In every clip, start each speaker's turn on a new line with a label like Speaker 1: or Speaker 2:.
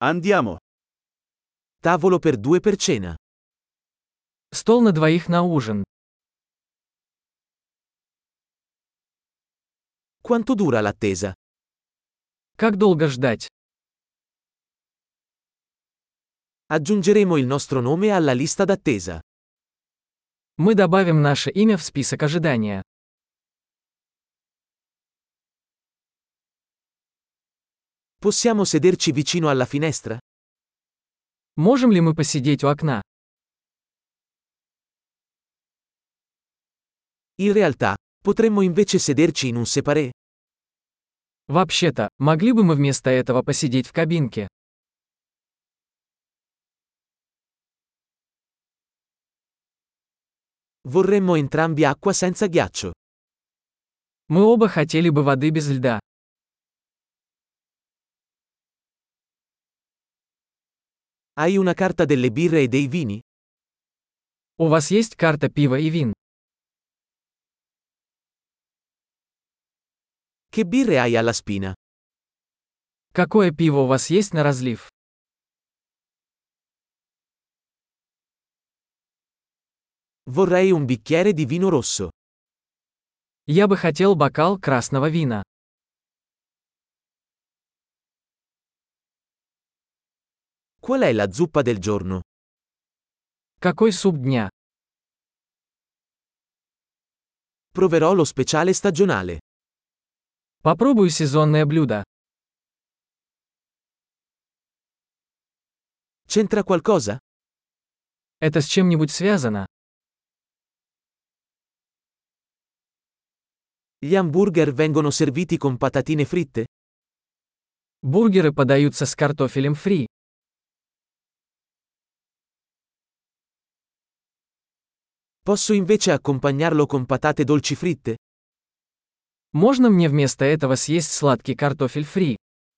Speaker 1: Andiamo.
Speaker 2: Tavolo per due per cena.
Speaker 3: Стол на двоих на ужин.
Speaker 2: Quanto dura l'attesa?
Speaker 3: Как долго ждать?
Speaker 2: Aggiungeremo il nostro nome alla lista d'attesa.
Speaker 3: Мы добавим наше имя в список ожидания.
Speaker 2: Possiamo sederci vicino alla finestra?
Speaker 3: Можем ли мы посидеть у окна?
Speaker 2: In realtà, potremmo invece sederci in un séparé.
Speaker 3: Вообще-то, могли бы мы вместо этого посидеть в кабинке?
Speaker 2: Vorremmo entrambi acqua senza ghiaccio.
Speaker 3: Мы оба хотели бы воды без льда.
Speaker 2: Hai una carta delle birre e dei vini?
Speaker 3: У вас есть карта пива и вин?
Speaker 2: Che birre hai alla spina?
Speaker 3: Какое пиво у вас есть на разлив?
Speaker 2: Vorrei un bicchiere di vino rosso.
Speaker 3: Я бы хотел бокал красного вина.
Speaker 2: Qual è la zuppa del giorno?
Speaker 3: Какой суп дня?
Speaker 2: Proverò lo speciale stagionale.
Speaker 3: Попробую сезонное блюдо.
Speaker 2: C'entra qualcosa?
Speaker 3: Это с чем-нибудь связано?
Speaker 2: Gli hamburger vengono serviti con patatine fritte?
Speaker 3: Бургеры подаются с картофелем фри.
Speaker 2: Posso invece accompagnarlo con patate dolci fritte?
Speaker 3: Можно мне вместо этого съесть сладкий картофель фри?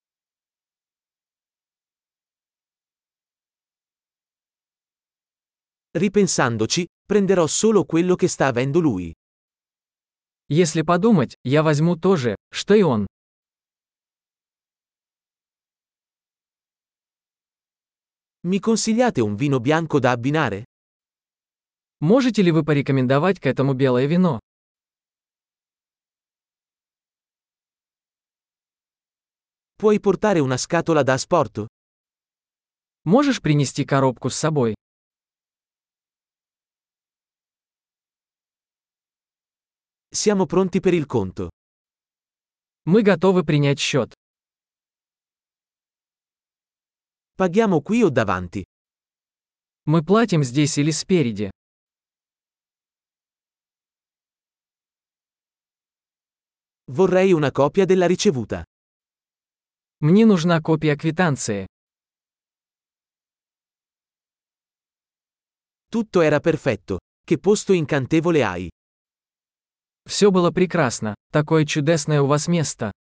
Speaker 2: Ripensandoci, prenderò solo quello che sta avendo lui.
Speaker 3: Если подумать, я возьму то же, что и он.
Speaker 2: Mi consigliate un vino bianco da abbinare?
Speaker 3: Можете ли вы порекомендовать к этому белое вино?
Speaker 2: Puoi portare una scatola da asporto?
Speaker 3: Можешь принести коробку с собой?
Speaker 2: Siamo pronti per il conto.
Speaker 3: Мы готовы принять счет.
Speaker 2: Paghiamo qui o davanti?
Speaker 3: Мы платим здесь или спереди?
Speaker 2: Vorrei una copia della ricevuta.
Speaker 3: Мне нужна копия квитанции.
Speaker 2: Tutto era perfetto. Che posto incantevole hai.
Speaker 3: Все было прекрасно. Такое чудесное у вас место.